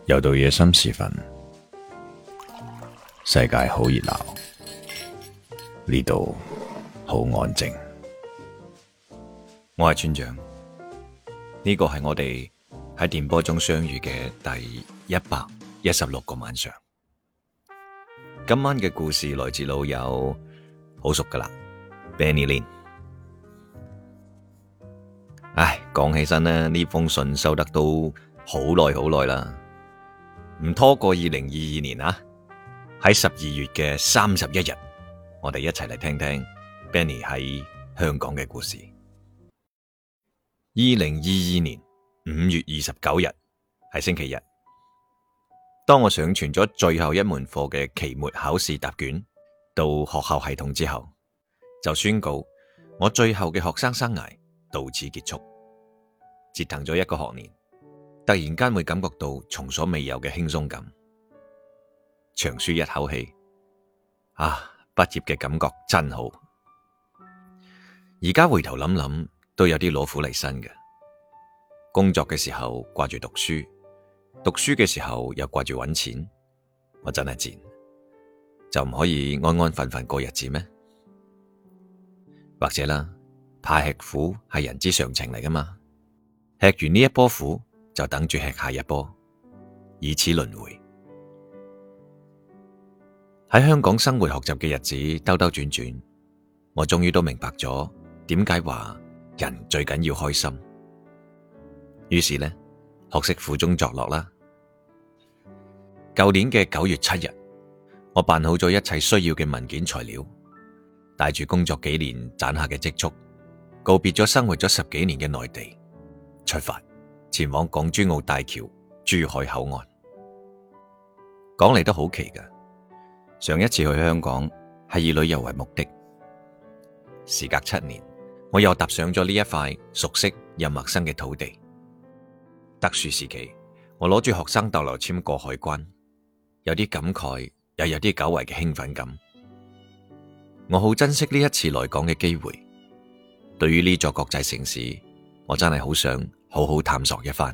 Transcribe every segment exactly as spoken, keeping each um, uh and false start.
又到夜深時分，世界好熱鬧，呢度好安靜。 我係村長，呢個係我哋喺電波中相遇嘅第一百一十六個晚上。今晚嘅故事來自老友，好熟噶啦 Benny Lin。唉，講起身呢，呢封信收得都好耐好耐啦，唔拖過二零二二年啊。喺十二月嘅三十一日，我哋一齊嚟聽聽 Benny 喺香港嘅故事。二零二二年五月二十九日係星期日，當我上傳咗最後一門課嘅期末考試答卷到學校系統之後，就宣告我最後嘅學生生涯到此結束，折騰咗一個學年，突然間會感覺到從所未有嘅輕鬆感，長舒一口氣。啊，畢業嘅感覺真好。而家回頭諗諗，都有啲攞苦嚟辛嘅。工作嘅時候掛住讀書，讀書嘅時候又掛住搵錢，我真係賤，就唔可以安安分分過日子咩？或者啦，怕吃苦係人之常情嚟噶嘛，吃完呢一波苦就等住吃下一波，以此輪迴。喺香港生活學習嘅日子兜兜轉轉，我終於都明白咗點解話人最緊要開心。於是呢，學識苦中作樂啦。舊年嘅九月七日，我辦好咗一切需要嘅文件材料，帶住工作幾年攢下嘅積蓄，告別咗生活咗十幾年嘅內地，出發前往港珠澳大橋珠海口岸。講嚟都好奇噶，上一次去香港係以旅遊為目的，時隔七年，我又踏上咗呢一塊熟悉又陌生嘅土地。特殊時期，我攞住學生逗留簽過海關，有啲感慨，又有啲久違嘅興奮感。我好珍惜呢一次來港嘅機會，對於呢座國際城市，我真係好想好好探索一番。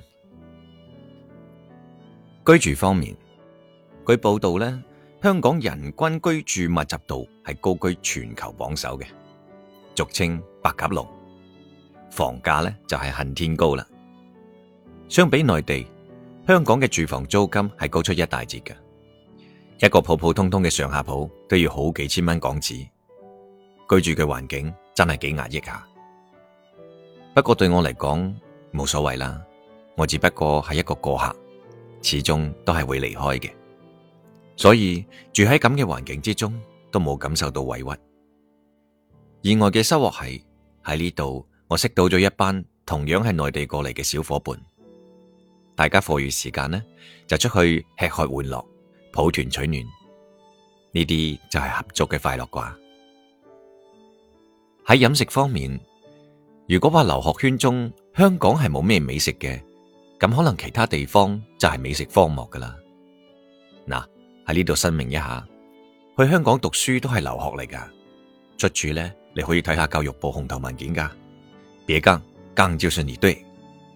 居住方面，據報道呢，香港人均居住密集度係高居全球榜首嘅，俗稱白鴿籠。房價呢就係恨天高啦。相比內地，香港嘅住房租金係高出一大截嘅，一個普普通通嘅上下鋪都要好幾千蚊港紙，居住嘅環境真係幾壓抑下。不過對我嚟講冇所謂啦，我只不過係一個過客，始終都係會離開嘅，所以住喺咁嘅環境之中都冇感受到委屈。意外嘅收穫係喺呢度，我識到咗一班同樣係內地過嚟嘅小伙伴。大家課餘時間呢，就出去吃喝玩樂，抱團取暖，呢啲就係合租嘅快樂啩。喺飲食方面，如果話留學圈中香港係冇咩美食嘅，咁可能其他地方就係美食荒漠噶啦。嗱，喺呢度申明一下，去香港讀書都係留學嚟噶，出處呢，你可以睇下教育部紅頭文件噶。別槓，槓就是你對。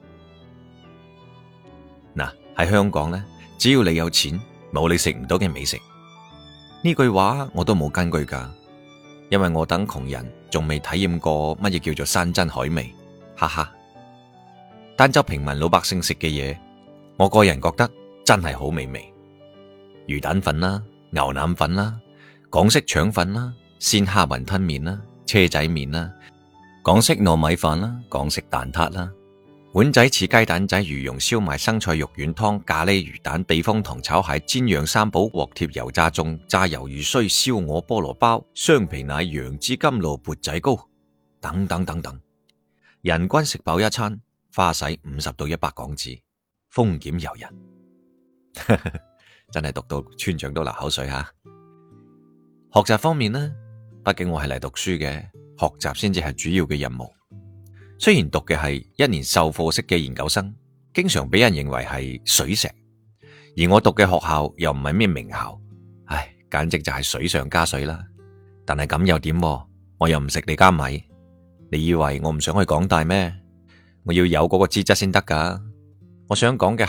嗱，喺香港呢，只要你有錢，冇你食唔到嘅美食。呢句話我都冇根據噶，因為我等窮人仲未體驗過乜嘢叫做山珍海味，哈哈。但就平民老百姓食嘅嘢，我個人覺得真係好美味。魚蛋粉啦，牛腩粉啦，港式腸粉啦，鮮蝦雲吞麵啦，車仔麵啦，港式糯米飯啦，港式蛋撻啦，碗仔翅雞蛋仔、魚蓉燒賣、生菜肉丸湯、咖喱魚蛋、避風塘炒蟹、煎釀三寶、鑊貼油炸粽、炸魷魚須、燒鵝菠蘿包、雙皮奶、楊枝甘露、缽仔糕等等等等，人均食飽一餐，花使五十到一百港紙，豐儉由人。真係讀到村長都流口水吓。學習方面呢，畢竟我係嚟讀書嘅，學習先至係主要嘅任務。雖然讀嘅係一年授課式嘅研究生，經常俾人認為係水石，而我讀嘅學校又唔係咩名校，唉，簡直就係水上加水啦。但係咁又點？我又唔食你家米，你以為我唔想去港大咩？我要有嗰個資質先得噶。我想講嘅係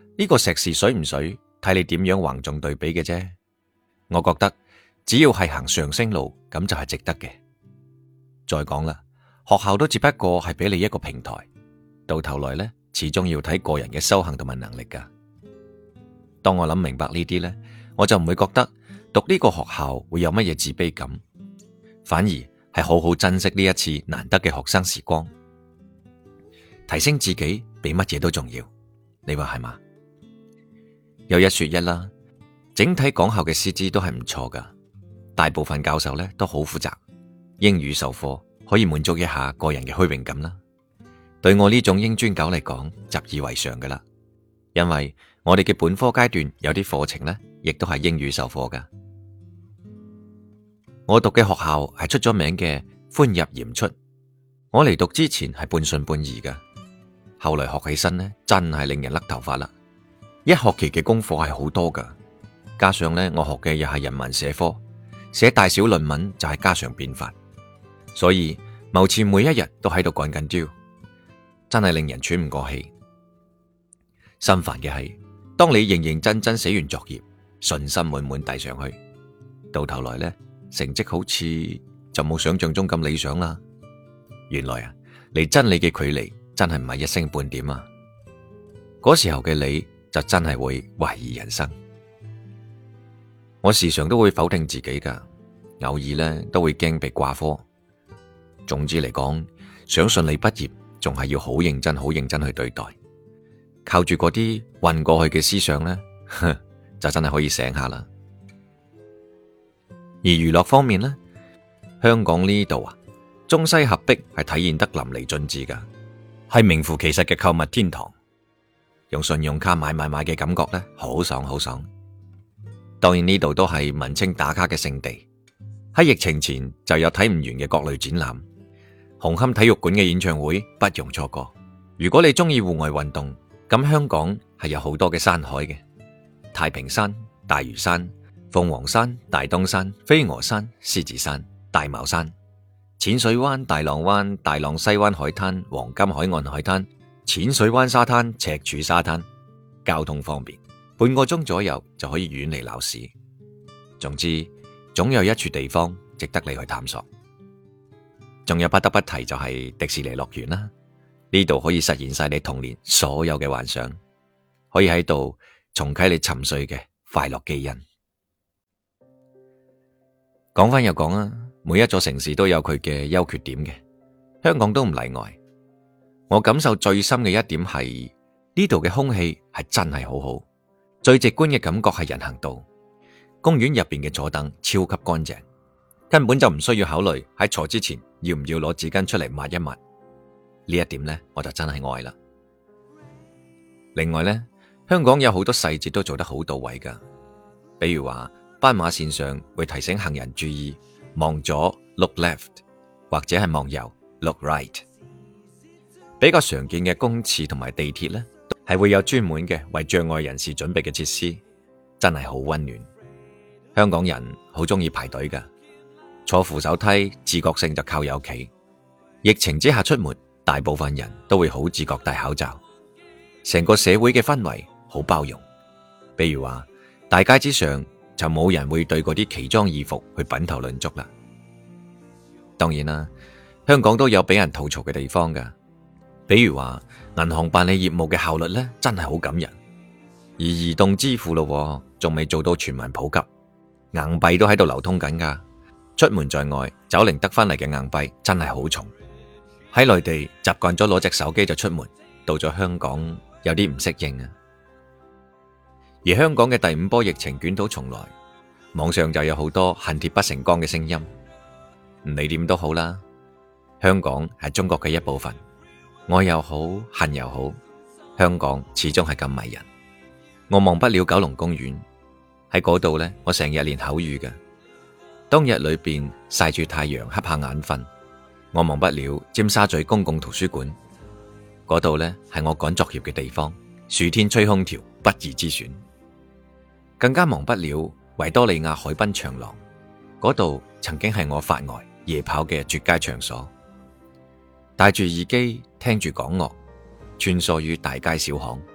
呢個碩士水唔水，睇你點樣橫重對比嘅啫。我覺得只要係行上升路，咁就係值得嘅。再講啦，學校都只不過係俾你一個平台，到頭來呢，始終要睇個人嘅修行同埋能力噶。當我諗明白呢啲呢，我就唔會覺得讀呢個學校會有乜嘢自卑感，反而係好好珍惜呢一次難得嘅學生時光，提升自己比乜嘢都重要。你話係嘛？有一說一啦，整體港校嘅師資都係唔錯噶，大部分教授呢都好負責，英語授課可以滿足一下個人嘅虛榮感啦。對我呢種英專狗嚟講，習以為常噶啦，因為我哋嘅本科階段有啲課程呢，亦都係英語授課噶。我讀嘅學校係出咗名嘅寬入嚴出，我嚟讀之前係半信半疑噶，後來學起身呢，真係令人甩頭髮啦。一學期嘅功課係好多噶，加上呢，我學嘅又係人文社科，寫大小論文就係家常便飯，所以謀前每一日都喺度趕緊焦，真係令人喘唔過氣。心煩嘅係，當你認認真真寫完作業，信心滿滿遞上去，到頭來呢，成績好似就冇想象中咁理想啦。原來啊，離真理嘅距離真係唔係一星半點啊！嗰時候嘅你就真係會懷疑人生。我時常都會否定自己噶，偶爾呢都會驚被掛科。總之嚟講，想順利畢業，仲係要好認真、好認真去對待。靠住嗰啲混過去嘅思想呢，就真係可以醒下啦。而娛樂方面呢，香港呢度啊，中西合璧係體現得淋漓盡致噶，係名副其實嘅購物天堂。用信用卡買買買嘅感覺呢，好爽好爽。當然呢度都係文青打卡嘅聖地。喺疫情前就有睇唔完嘅各類展覽，紅磡體育館嘅演唱會不容錯過。如果你中意戶外運動，咁香港係有好多嘅山海嘅，太平山、大嶼山、鳳凰山、大東山、飛鵝山、獅子山、大帽山、淺水灣、大浪灣、大浪西灣海灘、黃金海岸海灘、淺水灣沙灘、赤柱沙灘，交通方便，半個鐘左右就可以遠離鬧市。總之，總有一處地方值得你去探索。仲有不得不提就係迪士尼樂園啦，呢度可以實現晒你童年所有嘅幻想，可以喺度重啟你沉睡嘅快樂基因。講翻又講啊，每一座城市都有佢嘅優缺點嘅，香港都唔例外。我感受最深嘅一點係呢度嘅空氣係真係好好，最直觀嘅感覺係人行道，公園入邊嘅坐凳超級乾淨，根本就唔需要考慮喺坐之前要唔要攞紙巾出嚟抹一抹。呢一點呢，我就真係愛啦。另外呢，香港有好多細節都做得好到位噶，比如話斑馬線上會提醒行人注意望左 look left， 或者係望右 look right。比較常見嘅公廁同埋地鐵呢，係會有專門嘅為障礙人士準備嘅設施，真係好溫暖。香港人好中意排隊噶，坐扶手梯自覺性就靠右企。疫情之下出門，大部分人都會好自覺戴口罩，成個社會嘅氛圍好包容。比如話大街之上就冇人會對嗰啲奇裝異服去品頭論足啦。當然啦，香港都有俾人吐槽嘅地方噶，比如話銀行辦理業務嘅效率呢，真係好感人。而移動支付咯，仲未做到全民普及，硬幣都喺度流通緊噶。出門在外，走零得返嚟嘅硬幣真係好重。喺內地習慣咗攞隻手機就出門，到咗香港有啲唔適應啊。而香港嘅第五波疫情捲土重來，網上就有好多恨鐵不成鋼嘅聲音。唔理點都好啦，香港係中國嘅一部分，愛又好，恨又好，香港始終係咁迷人。我忘不了九龍公園，喺嗰度呢，我成日練口語嘅。當日裏邊曬住太陽瞌下眼瞓，我忘不了尖沙咀公共圖書館，嗰度呢係我趕作業嘅地方，暑天吹空調不二之選。更加忘不了維多利亞海濱長廊，嗰度曾經係我發呆夜跑嘅絕佳場所。戴住耳機聽住港樂，穿梭於大街小巷，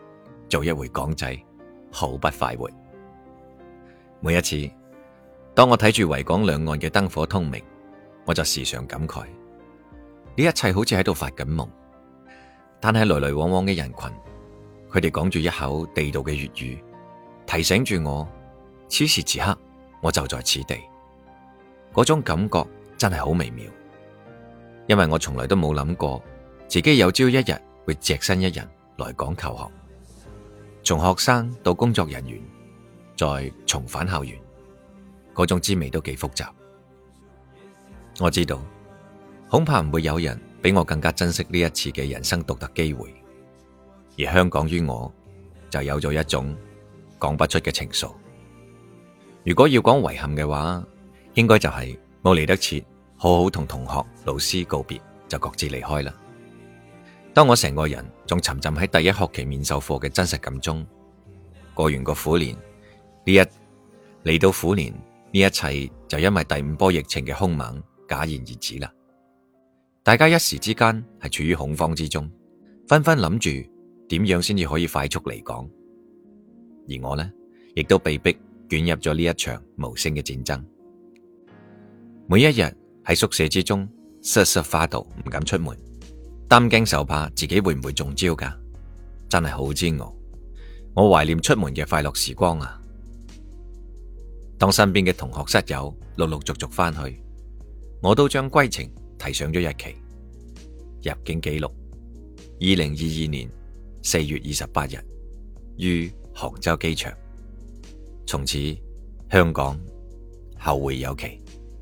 做一回港仔，好不快活。每一次當我睇住維港兩岸嘅燈火通明，我就時常感慨，呢一切好似喺度發緊夢。但係來來往往嘅人群，佢哋講住一口地道嘅粵語，提醒住我，此時此刻我就在此地。嗰種感覺真係好微妙，因為我從來都冇諗過自己有朝一日會隻身一人來港求學，從學生到工作人員，再重返校園，嗰種滋味都幾複雜。我知道，恐怕唔會有人比我更加珍惜呢一次嘅人生獨特機會，而香港於我就有咗一種講不出嘅情愫。如果要講遺憾嘅話，應該就係冇嚟得切好好同同學老師告別，就各自離開啦。當我成個人仲沉浸喺第一學期面授課嘅真實感中，過完個虎年，呢一嚟到虎年，呢一切就因為第五波疫情嘅兇猛戛然而止啦。大家一時之間係處於恐慌之中，紛紛諗住點樣先至可以快速離港。而我呢，亦都被逼捲入咗呢一場無聲嘅戰爭。每一日喺宿舍之中瑟瑟發抖，唔敢出門，擔驚受怕自己會唔會中招噶，真係好煎熬。我懷念出門嘅快樂時光啊！當身邊嘅同學室友陸陸續續翻去，我都將歸程提上咗日期。入境記錄：二零二二年四月二十八日，於杭州機場。從此香港後會有期。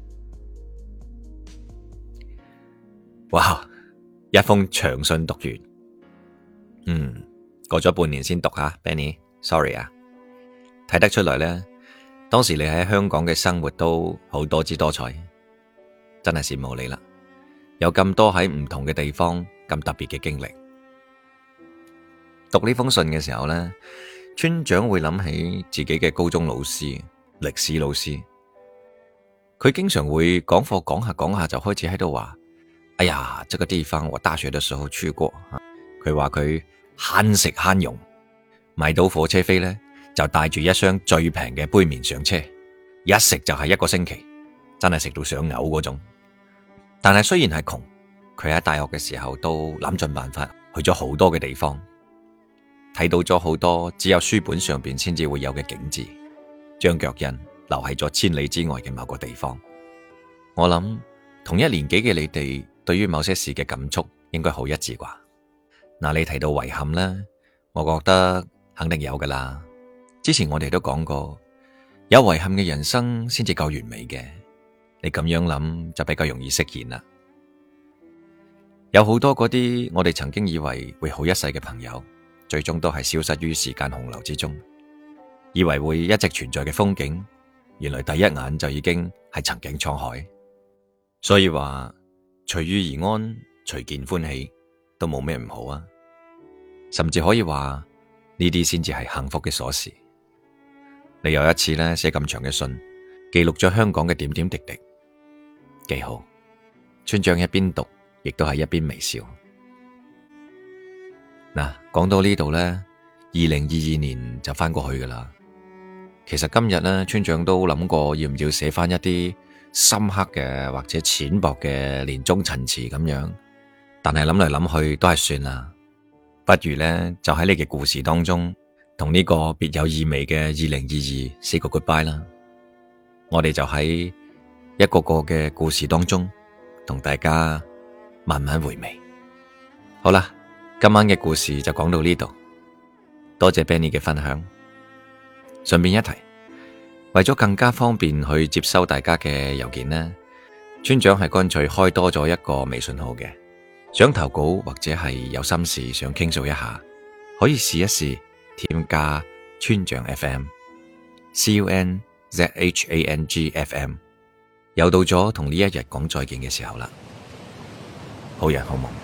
哇！一封長信讀完，嗯，過咗半年先讀下 Benny，sorry 啊。睇得出來呢，當時你喺香港嘅生活都好多姿多彩，真係羨慕你啦。有咁多喺唔同嘅地方咁特別嘅經歷。讀呢封信嘅時候呢，村長會諗起自己嘅高中老師，歷史老師。佢經常會講課講下講下就開始喺度話：哎呀，這個地方我大學的時候去過。佢話佢慳食慳用，買到火車飛呢，就帶住一箱最平嘅杯麵上車，一食就係一個星期，真係食到想嘔嗰種。但係雖然係窮，佢喺大學嘅時候都諗盡辦法去咗好多嘅地方，睇到咗好多只有書本上邊先至會有嘅景致，將腳印留喺咗千里之外嘅某個地方。我諗同一年紀嘅你哋對於某些事嘅感觸應該好一致啩。嗱，你提到遺憾呢，我覺得肯定有噶啦。之前我哋都講過，有遺憾嘅人生先至夠完美嘅。你咁樣諗就比較容易釋然啦。有好多嗰啲我哋曾經以為會好一世嘅朋友，最終都係消失於時間洪流之中。以為會一直存在嘅風景，原來第一眼就已經係曾經滄海。所以話隨遇而安，隨見歡喜，都冇咩唔好啊。甚至可以話呢啲先至係幸福嘅鎖匙。你有一次呢寫咁長嘅信，記錄咗香港嘅點點滴滴，幾好。村長一邊讀，亦都係一邊微笑。嗱，講到呢度呢，二零二二年就翻過去噶啦。其實今日呢，村長都諗過要唔要寫翻一啲深刻嘅或者淺薄嘅年終陳詞咁樣，但係諗嚟諗去都係算啦。不如呢，就喺你嘅故事當中，同呢個別有意味嘅二零二二say個 goodbye 啦。我哋就喺一個個嘅故事當中，同大家慢慢回味。好啦，今晚嘅故事就講到呢度，多謝 Benny 嘅分享。順便一提，為咗更加方便去接收大家嘅郵件呢，村長係乾脆開多咗一個微信號嘅，想投稿或者係有心事想傾訴一下，可以試一試添加村長 F M C U N Z H A N G F M。 又到咗同呢一日講再見嘅時候啦，好人好夢。